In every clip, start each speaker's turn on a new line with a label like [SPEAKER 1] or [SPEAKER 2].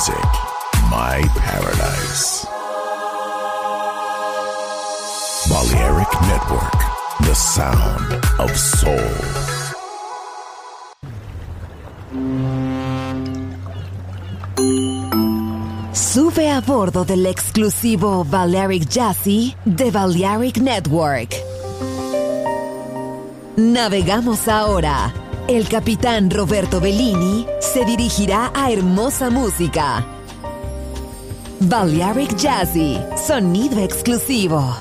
[SPEAKER 1] music, my paradise. Balearic Network, the sound of soul.
[SPEAKER 2] Sube a bordo del exclusivo Balearic Jazzy de Balearic Network. Navegamos ahora. El capitán Roberto Bellini se dirigirá a hermosa música. Balearic Jazzy, sonido exclusivo.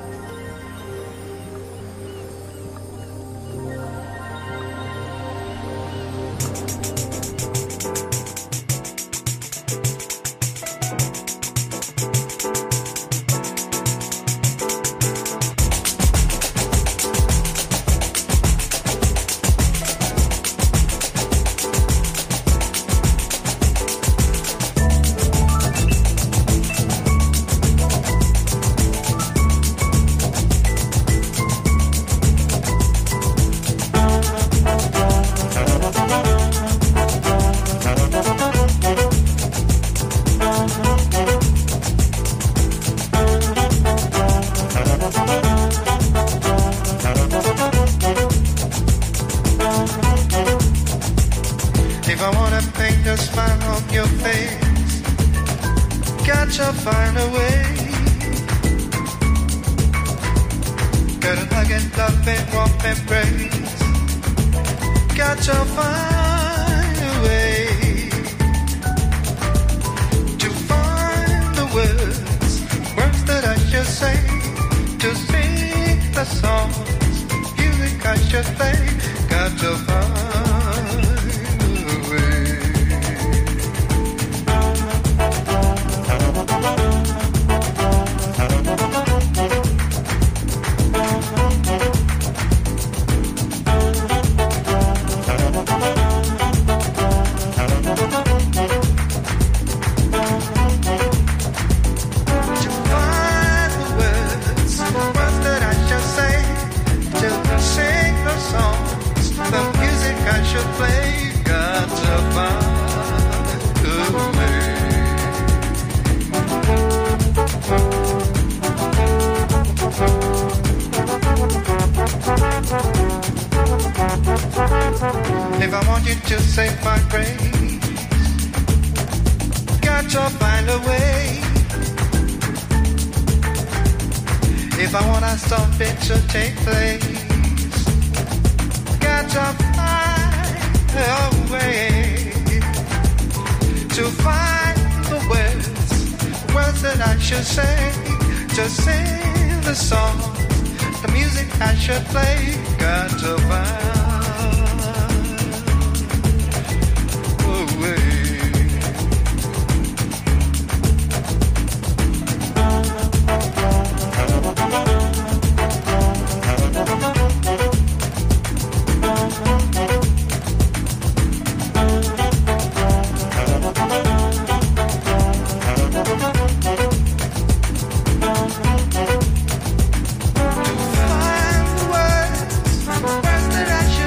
[SPEAKER 3] That I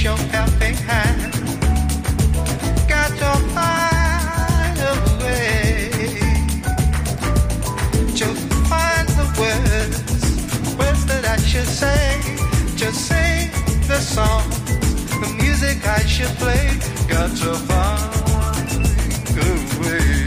[SPEAKER 3] your helping hand. Got to find a way to find the words that I should say, to sing the song, the music I should play. Got to find a way.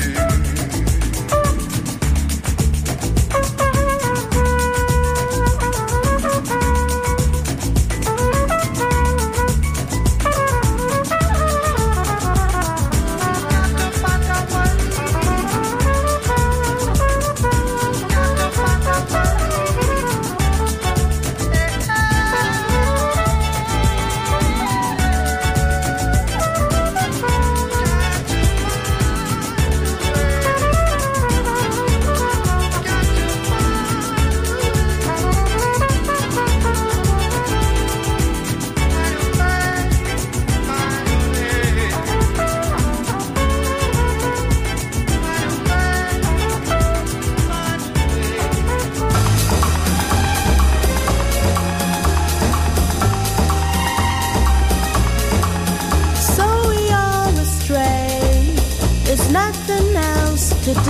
[SPEAKER 4] To do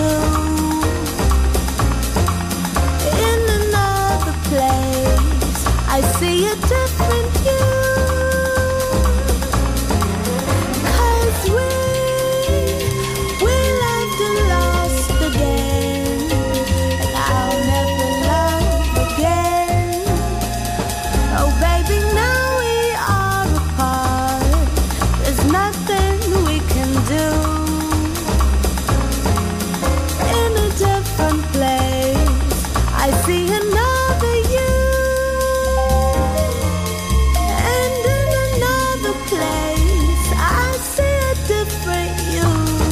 [SPEAKER 4] in another place, I see a different you. 'Cause we loved and lost again, and I'll never love again. Oh baby, now we are apart. There's nothing we can do. Different place, I see another you, and in another place, I see a different you.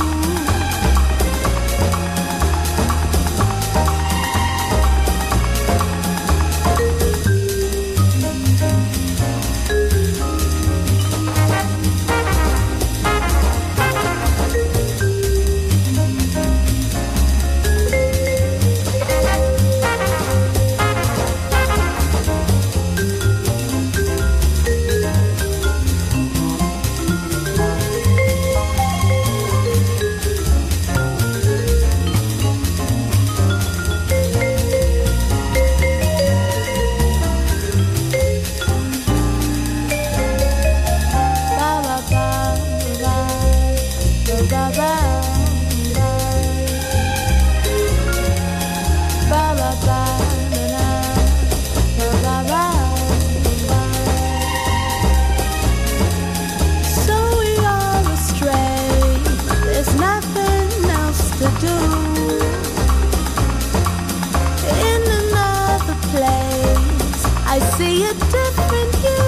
[SPEAKER 4] I see a different you.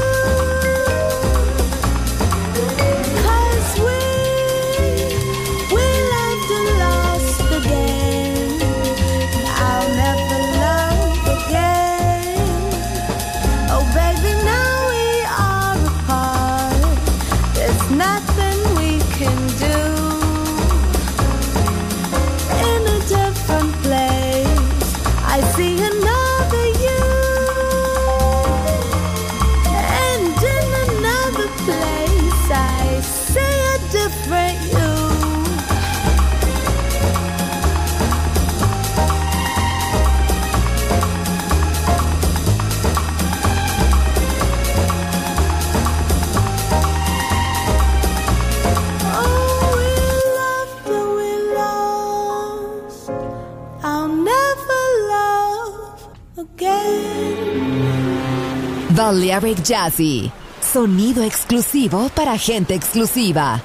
[SPEAKER 4] 'Cause we loved and lost again. I'll never love again. Oh baby, now we are apart. There's nothing we can do. In a different place, I see another you. Place, I see a different you. Oh, we loved and we lost. I'll never love again.
[SPEAKER 2] Balearic Jazzy. Sonido exclusivo para gente exclusiva.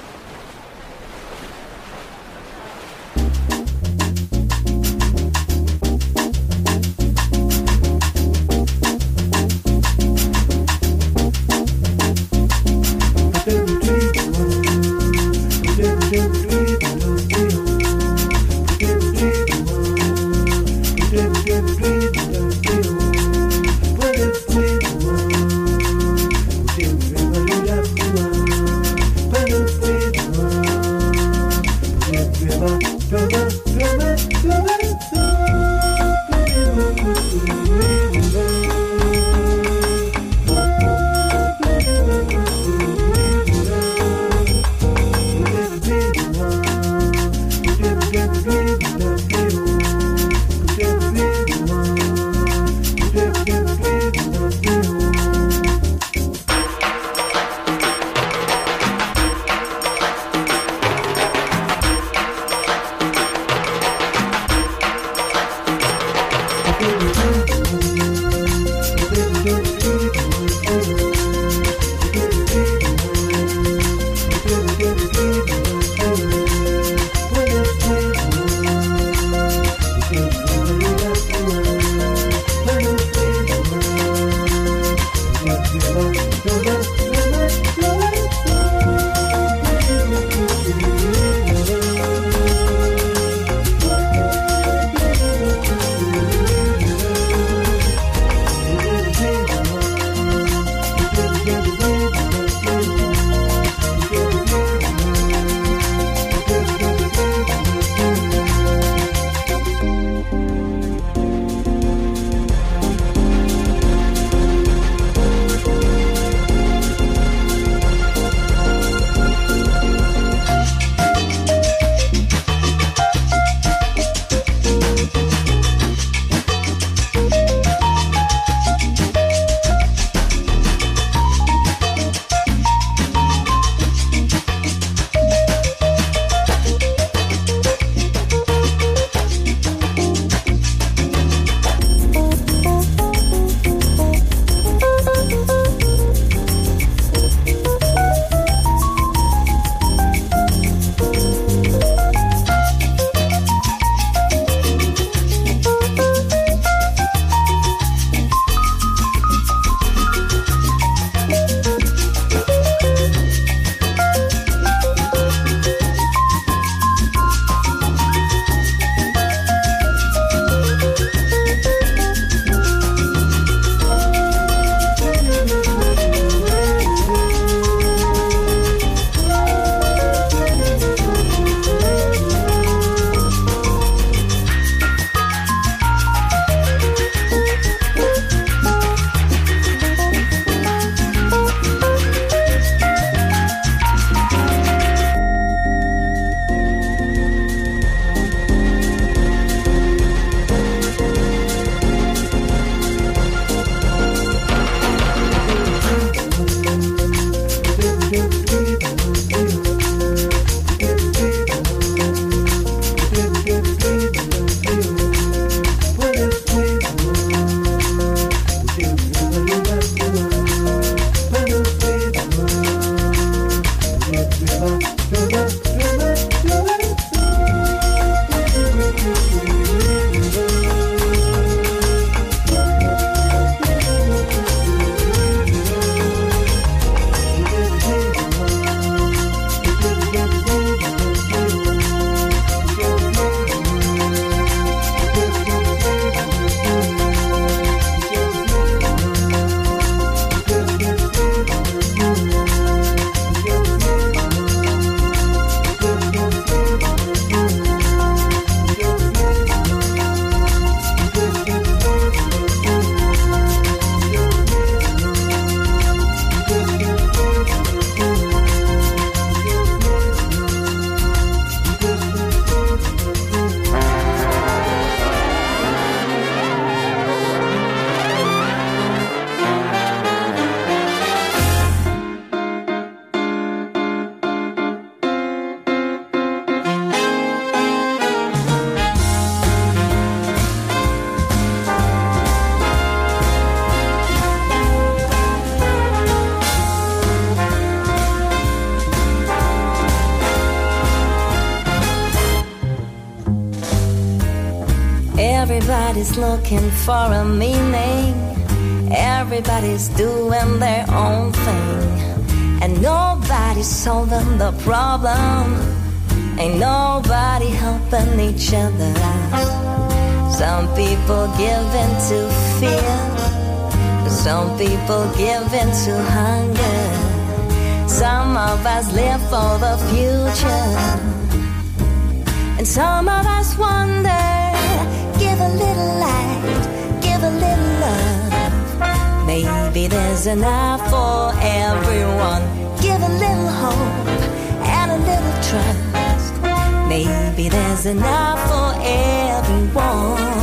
[SPEAKER 5] Everybody's looking for a meaning. Everybody's doing their own thing. And nobody's solving the problem. Ain't nobody helping each other out. Some people give in to fear. Some people give in to hunger. Some of us live for the future. And some of us wonder. Give a little light, give a little love. Maybe there's enough for everyone. Give a little hope and a little trust. Maybe there's enough for everyone.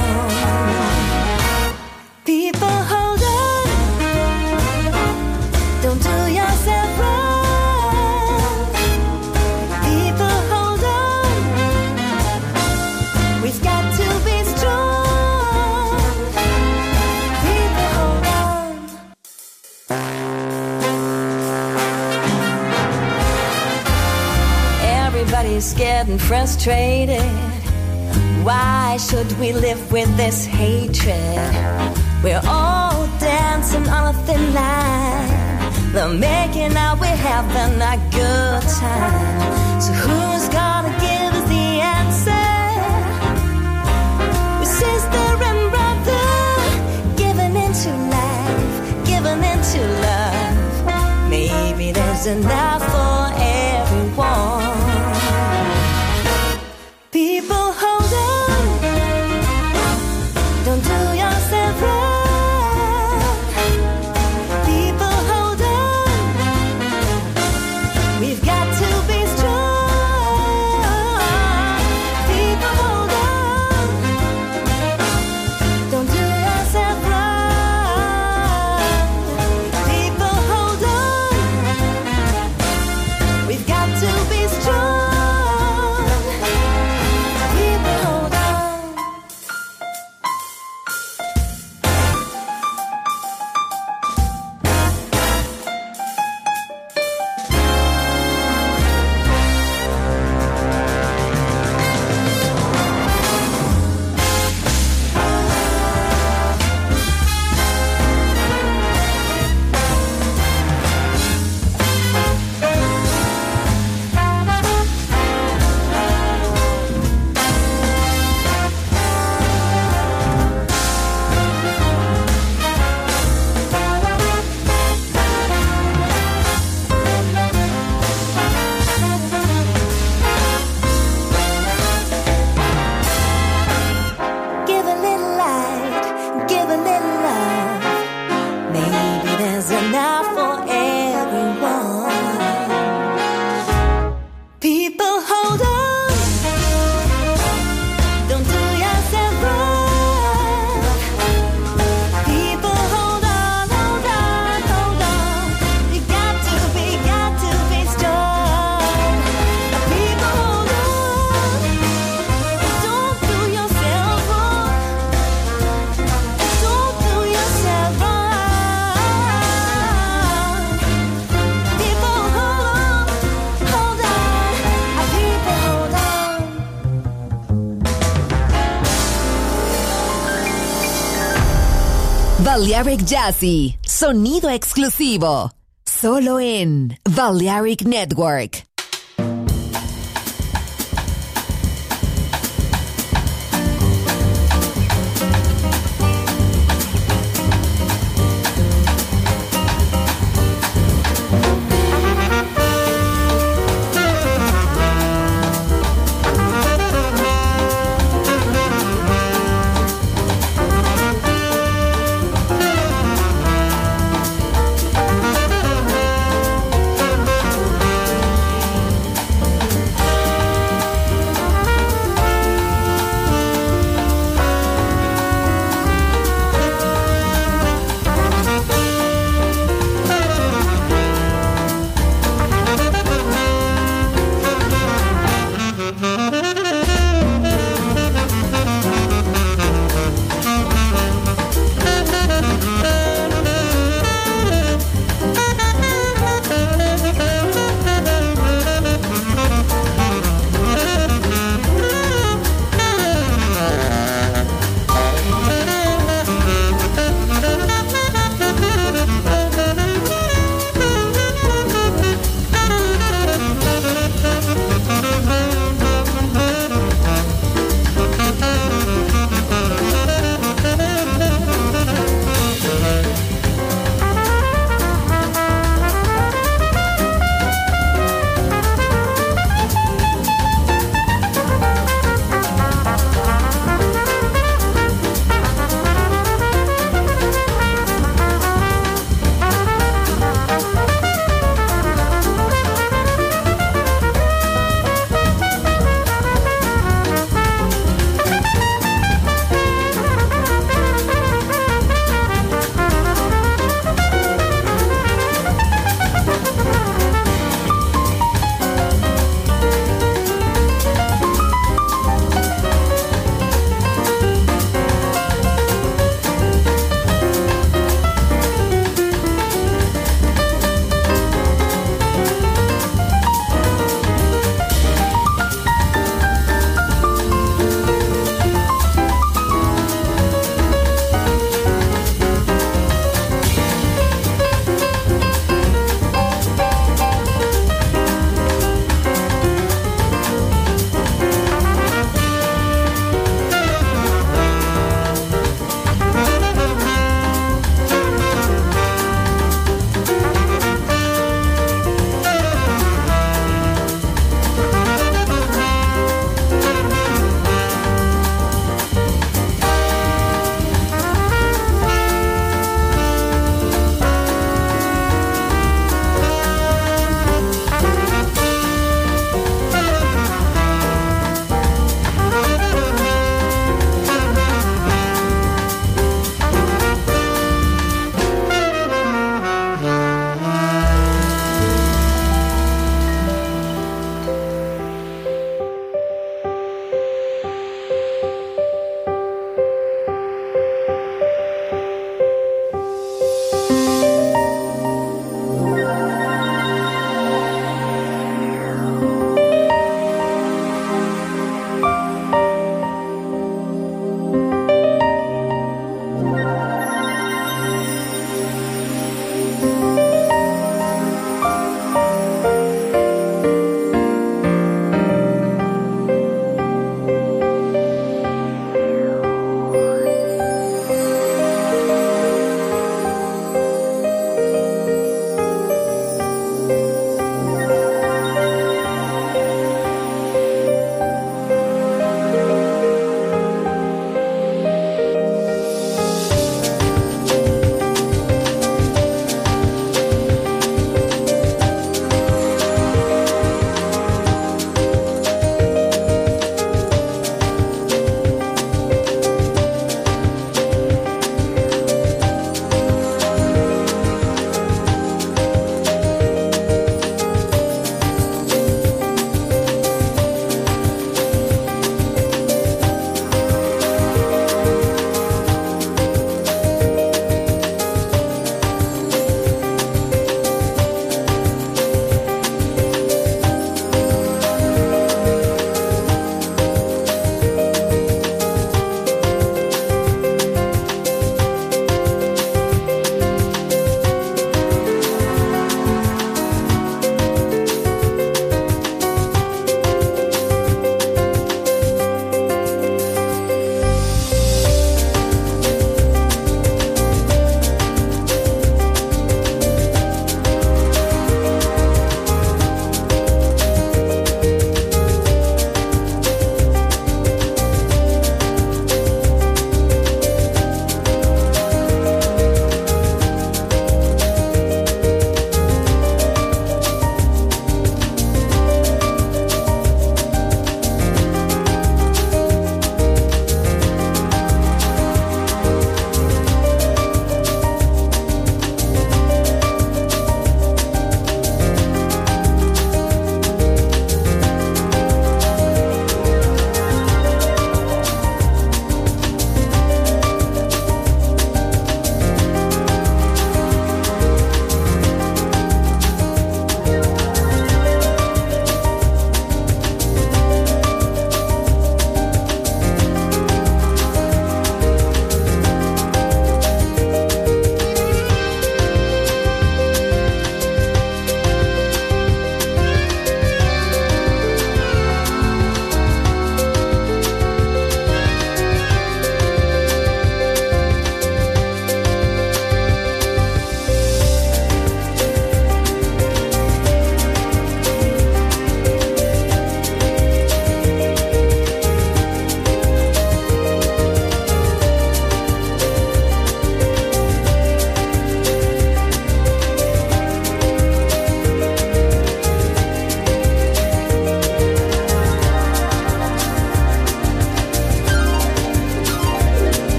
[SPEAKER 5] People, hold on. Don't do yourself wrong. People, hold on. We've got to be strong. People, hold on. Everybody's getting frustrated. Why should we live with this hatred? We're all dancing on a thin line. They're making out we're having a good time. So who's gonna give us the answer? We're sister and brother, giving into life, giving into love. Maybe there's enough for everyone. People, hold on. Don't do yourself wrong. People, hold on. We've got to be strong. People, hold on. Don't do yourself wrong. People, hold on. We've got to be strong.
[SPEAKER 2] Balearic Jazzy, sonido exclusivo, solo en Balearic Network.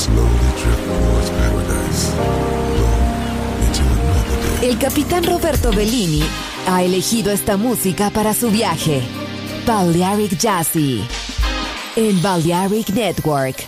[SPEAKER 1] slowly drift towards paradise. Into another day.
[SPEAKER 2] El capitán Roberto Bellini ha elegido esta música para su viaje. Balearic Jazzy en Balearic Network.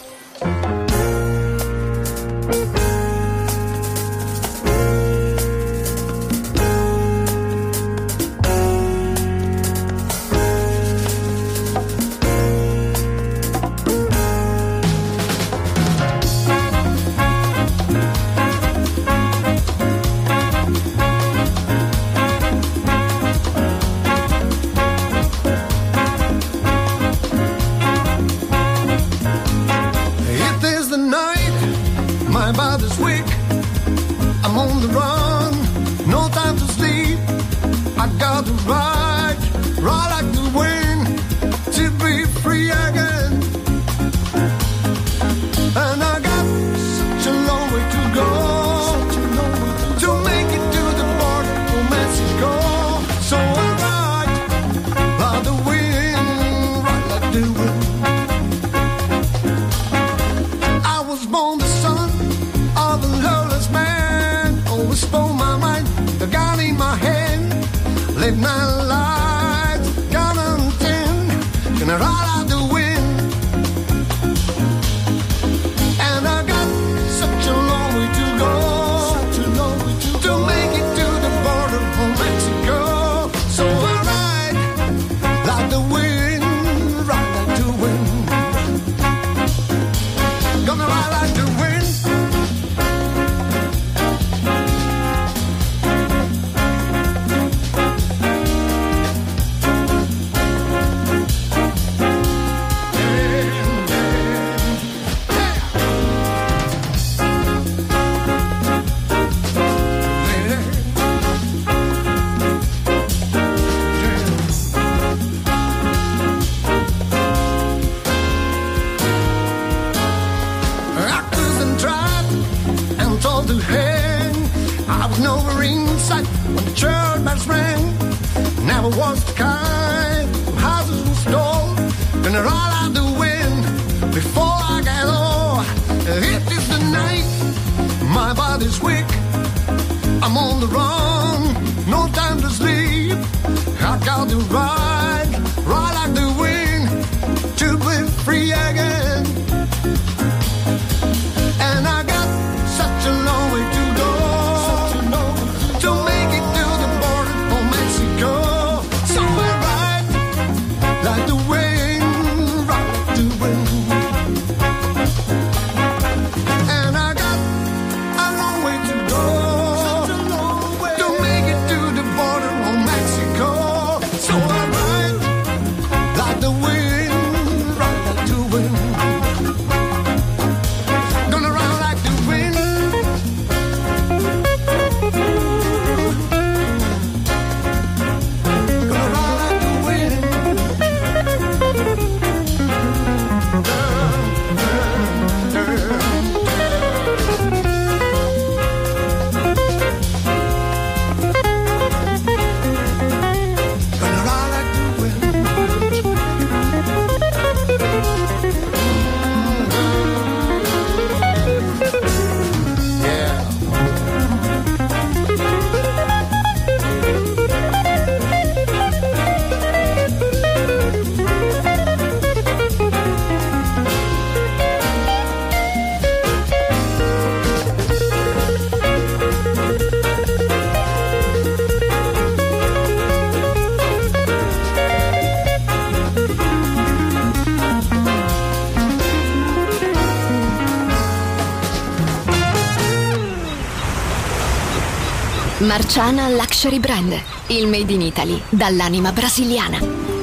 [SPEAKER 6] Marciana Luxury Brand, il made in Italy dall'anima brasiliana.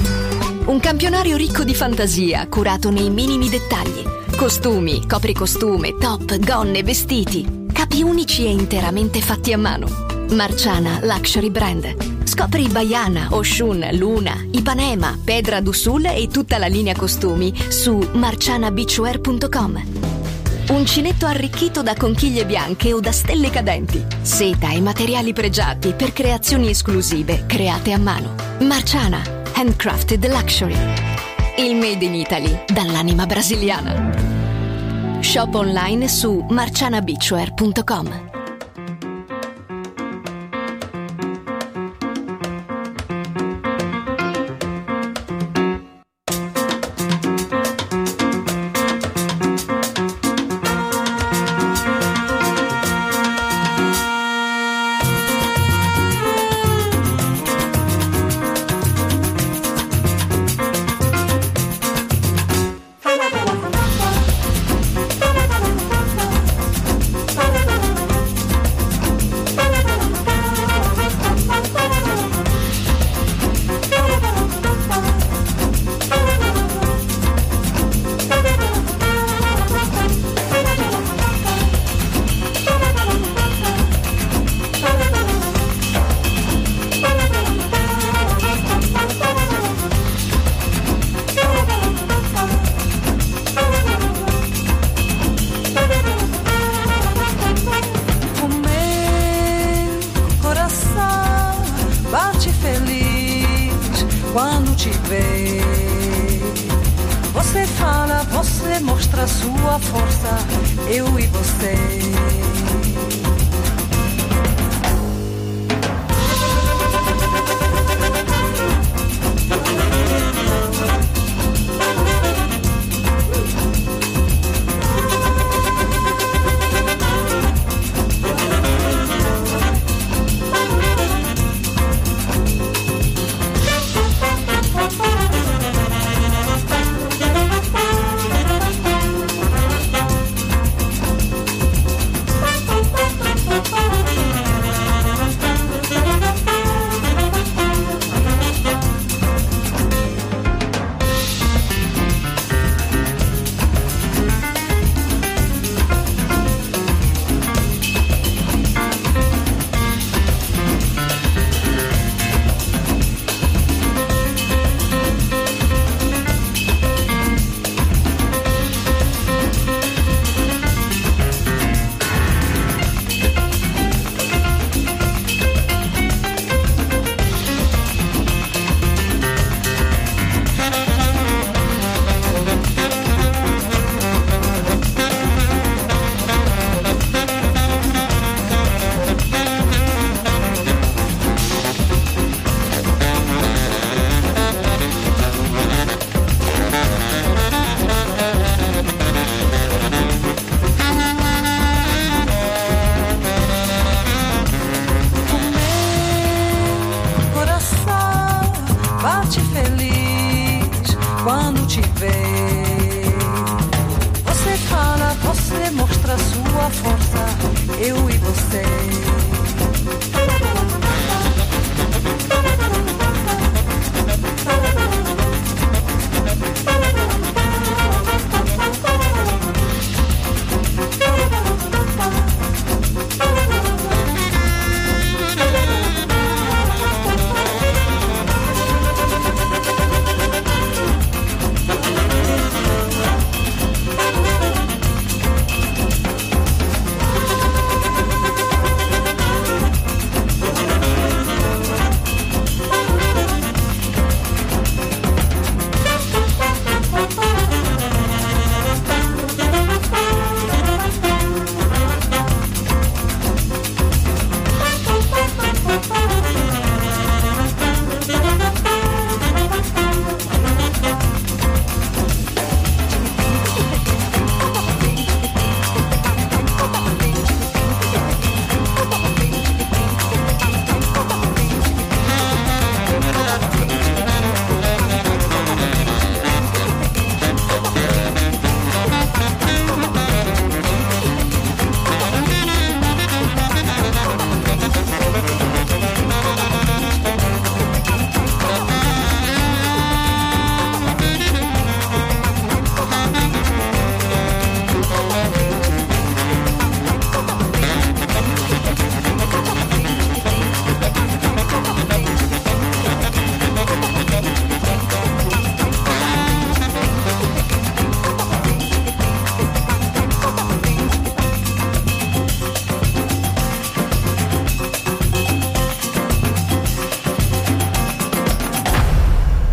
[SPEAKER 6] Un campionario ricco di fantasia, curato nei minimi dettagli. Costumi, copricostume, top, gonne, vestiti. Capi unici e interamente fatti a mano. Marciana Luxury Brand. Scopri Baiana, Oshun, Luna, Ipanema, Pedra do Sul e tutta la linea costumi su marcianabeachwear.com. Uncinetto arricchito da conchiglie bianche o da stelle cadenti. Seta e materiali pregiati per creazioni esclusive create a mano. Marciana, handcrafted luxury. Il made in Italy dall'anima brasiliana. Shop online su marcianabeachwear.com.
[SPEAKER 7] Quando te vê, você fala, você mostra sua força, eu e você.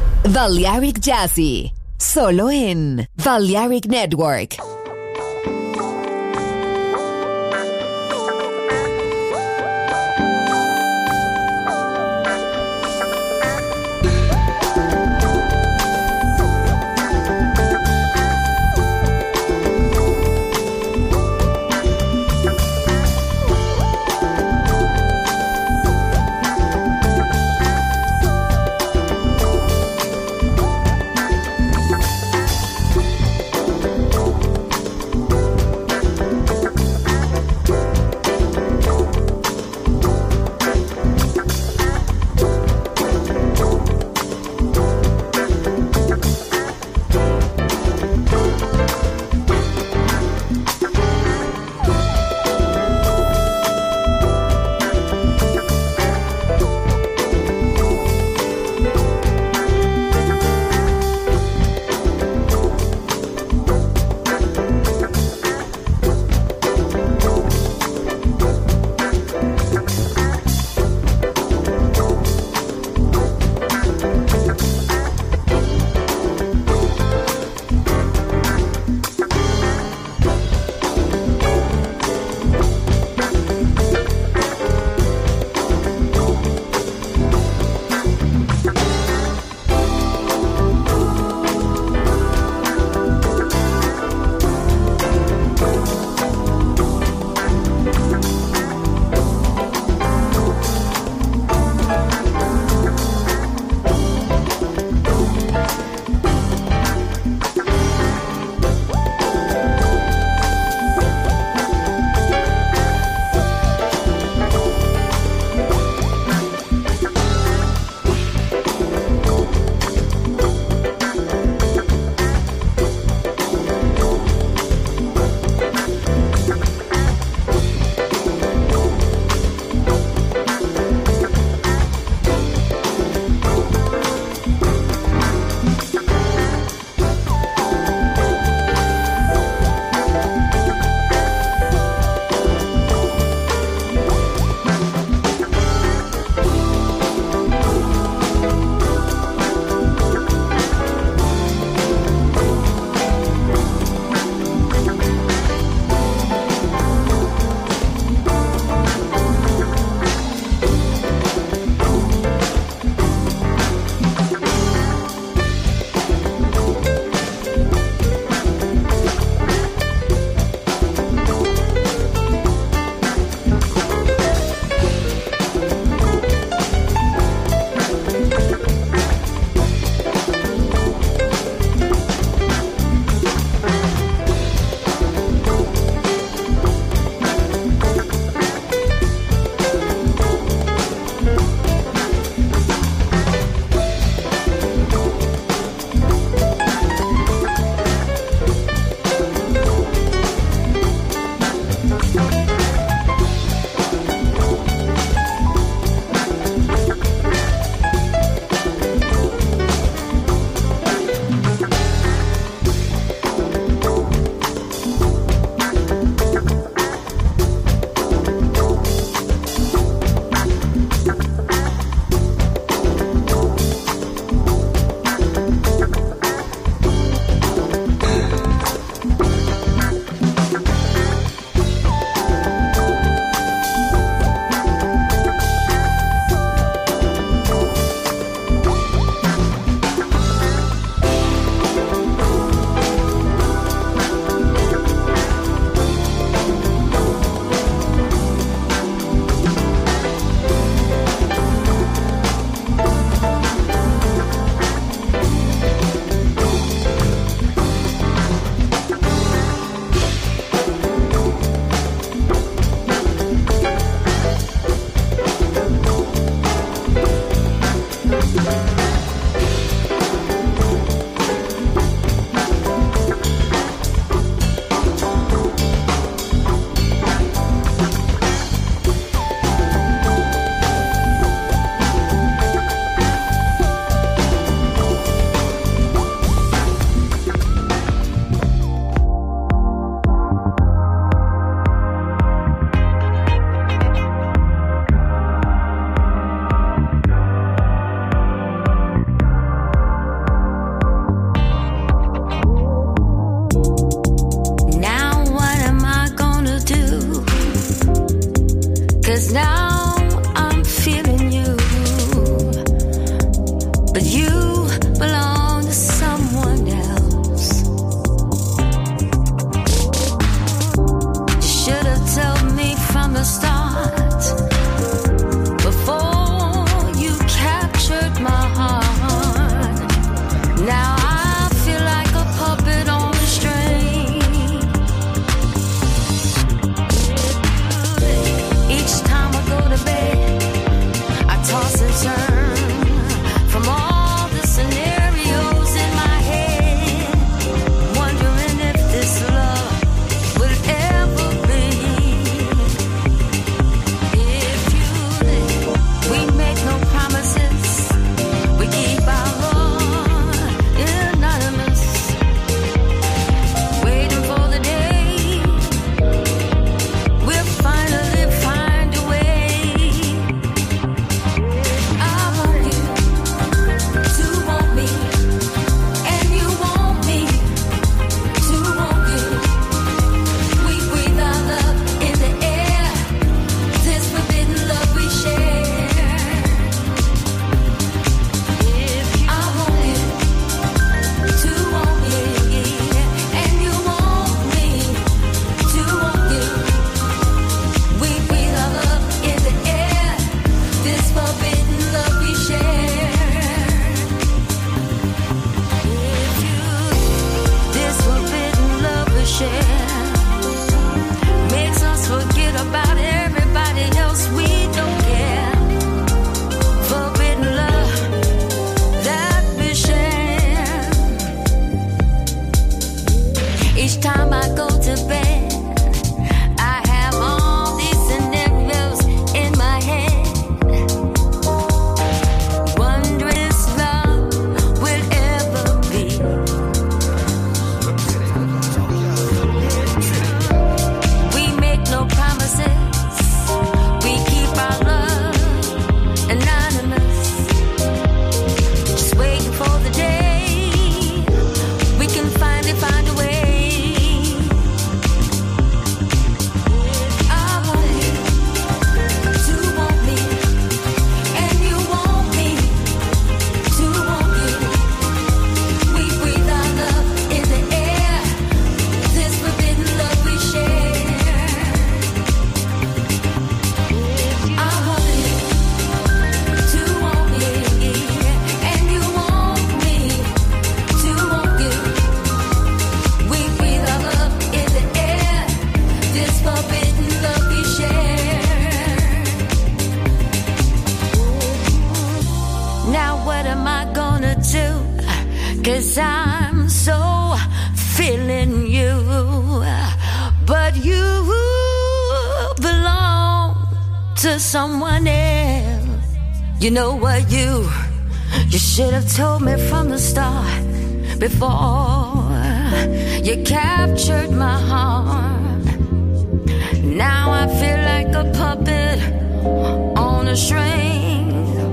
[SPEAKER 2] Balearic Jazzy, solo en Balearic Network.
[SPEAKER 5] 'cause now I'm feeling you, but you belong to someone else. You should have told me from the start, before you captured my heart. Now I feel like a puppet on a string. Each time I go to bed, I toss and turn from all the scenarios in my head, wondering if this love will ever be. If you live, we make no promises, we keep our love anonymous, waiting for the day we'll finally find a way. I want you to want me, and you want me to want you. We breathe our love in the air, this forbidden love we share. I want you to want me, and you want me to want you. We breathe our love in the air, this forbidden love we share. This forbidden love we share makes us forget about everybody else. We don't care. Forbidden love that we share. Each time I go to bed, I have all these scenarios in my head, wondering if love will ever be. We make no promises, we keep our love anonymous, just waiting for the day we can finally find a way. I want you to want me, and you want me to want you. We breathe our love in the air, this forbidden love we share. I want you to want me, and you want me to want you. We breathe our love in the air, this forbidden love we share. Now what am I gonna do? 'Cause I'm so feeling you, but you belong to someone else. You know what, you should have told me from the start, before you captured my heart. Now I feel like a puppet on a string.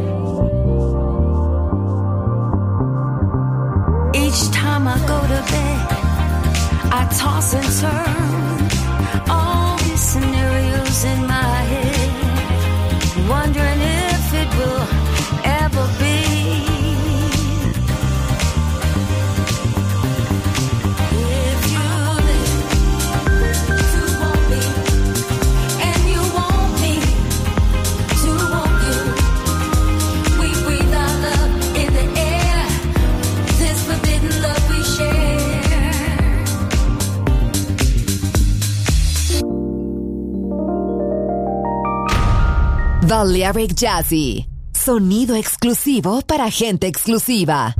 [SPEAKER 5] Each time I go to bed, I toss and turn all these scenarios in my head, wondering if it will ever be. If you live to want me, and you want me to want you, we breathe our love in the air, this forbidden love we share.
[SPEAKER 2] Balearic Jazzy, sonido exclusivo para gente exclusiva.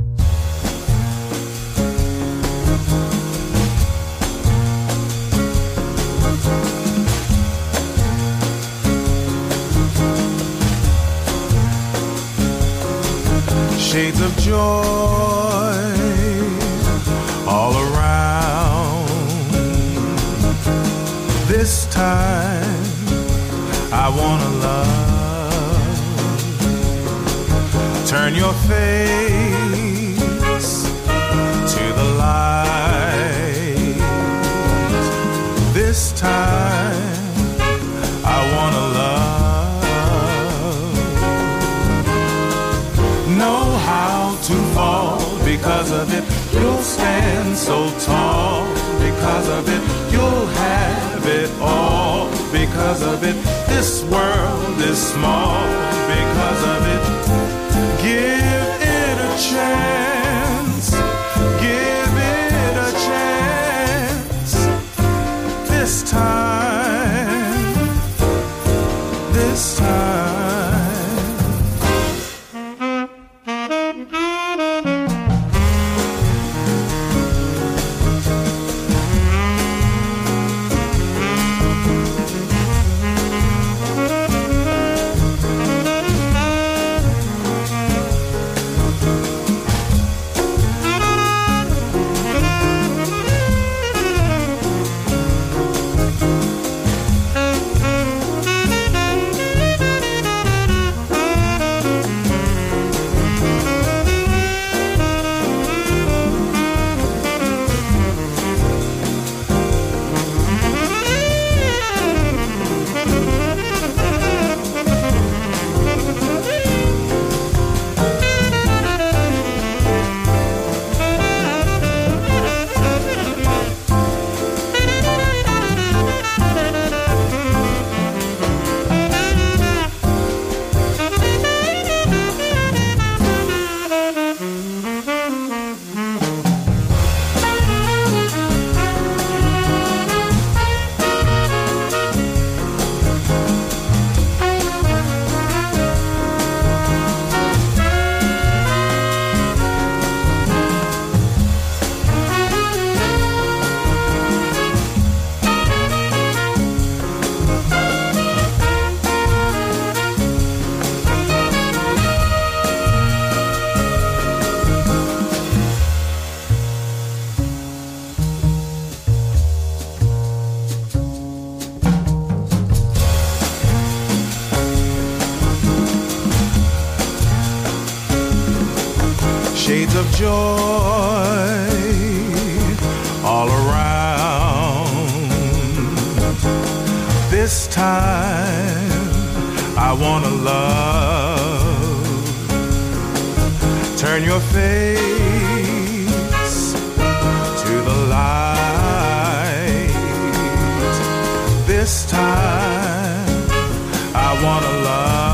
[SPEAKER 1] Shades of joy all around. This time I wanna love. Turn your face to the light. This time I wanna love. because of it, you'll stand so tall. Because of it, you'll have it all. Because of it, this world is small. Because of it, give it a chance. Give it a chance. This time. This time. Shades of joy all around. This time I wanna love. Turn your face to the light. This time I wanna love.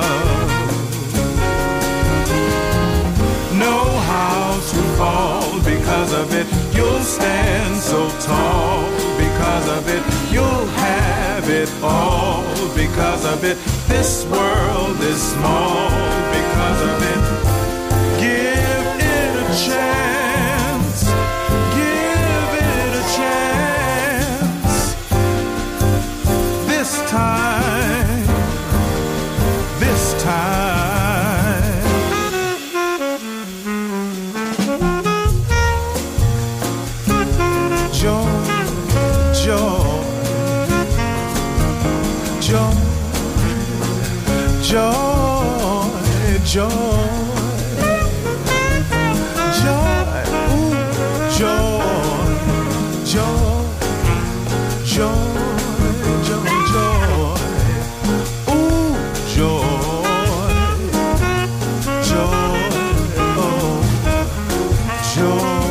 [SPEAKER 1] Because of it, you'll stand so tall. Because of it, you'll have it all. Because of it, this world is small. Because of it, give it a chance. Give it a chance. This time. This time. Joy, joy, ooh, joy, joy, joy, joy, joy, ooh, joy, joy, oh, joy,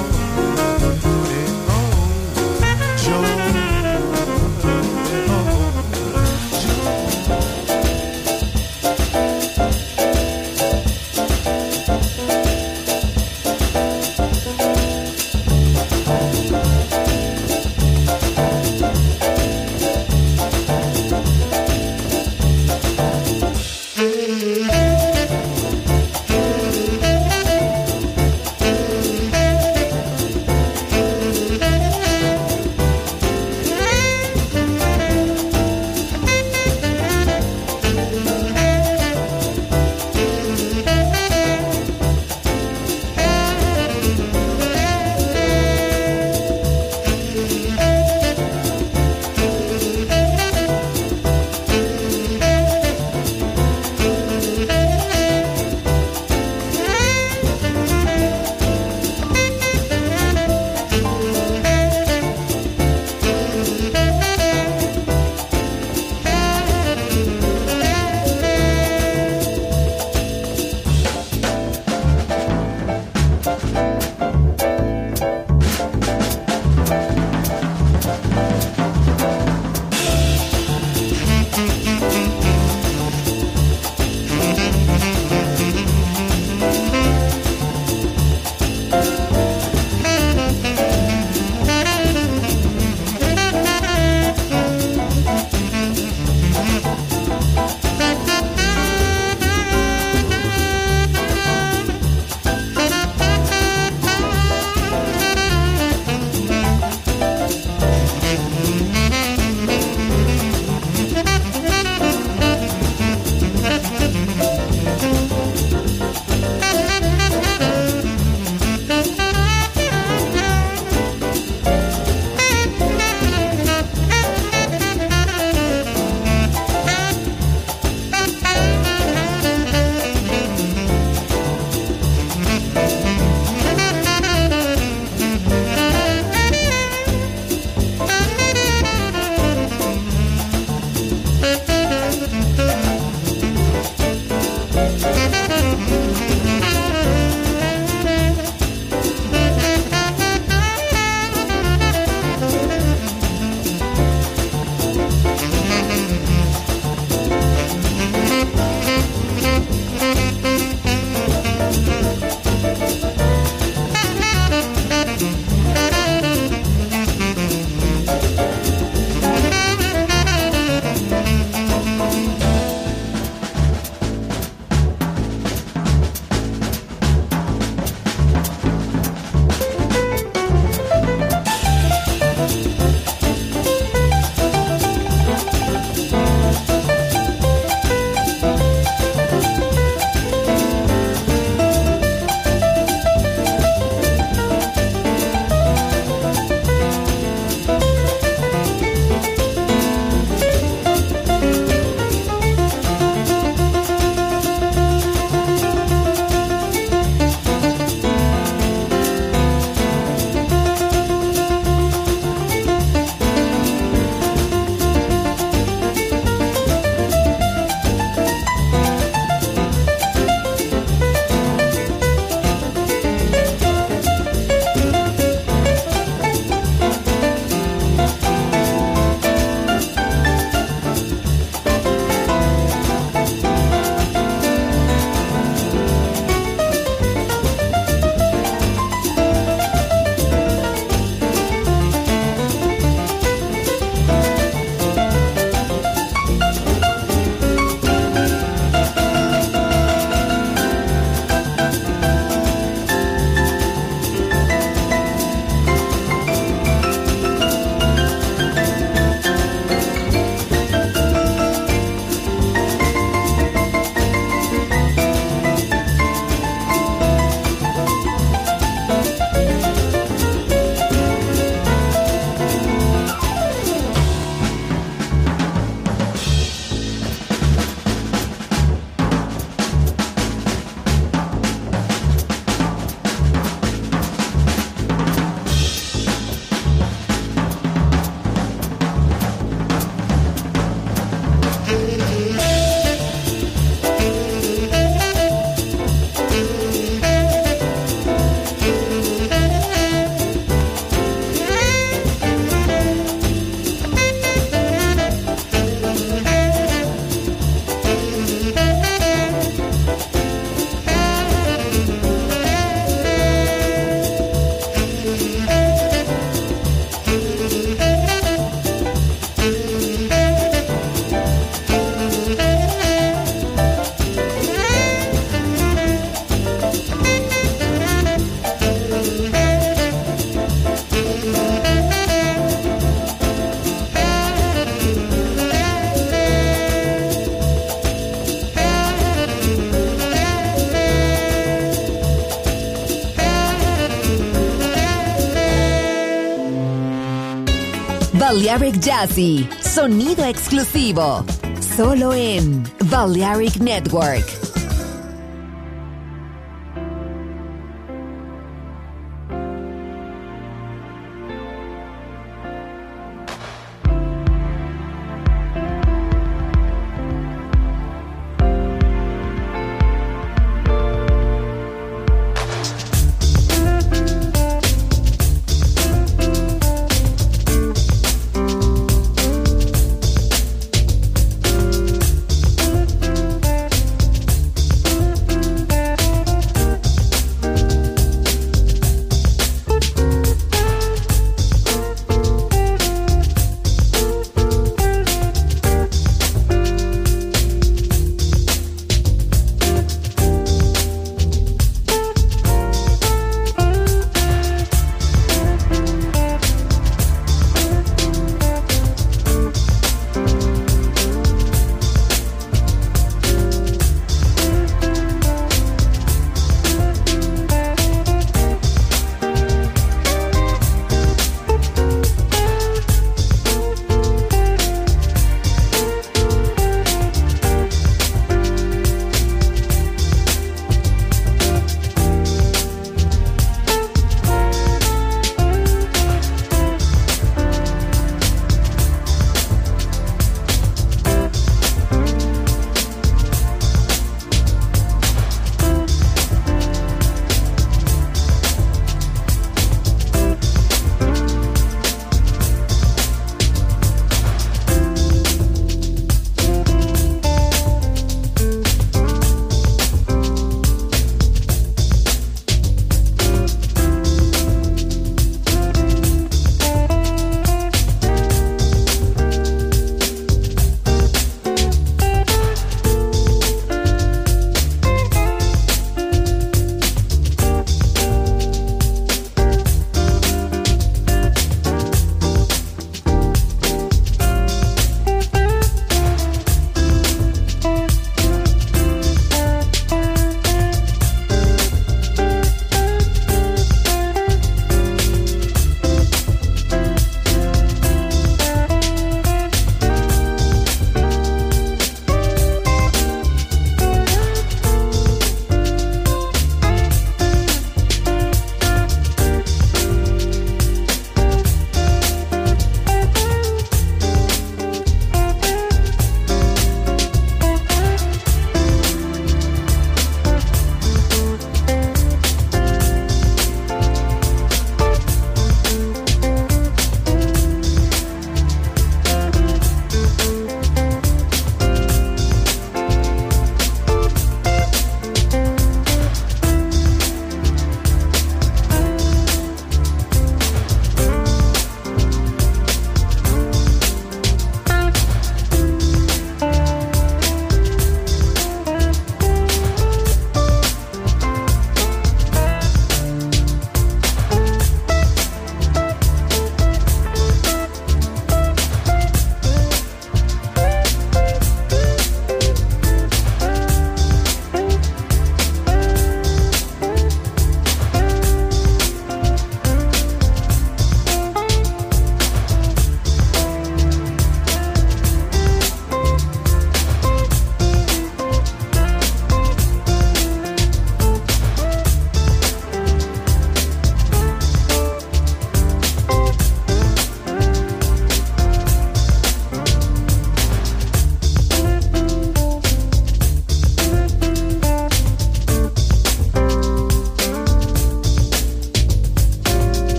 [SPEAKER 2] Balearic Jazzy, sonido exclusivo, solo en Balearic Network.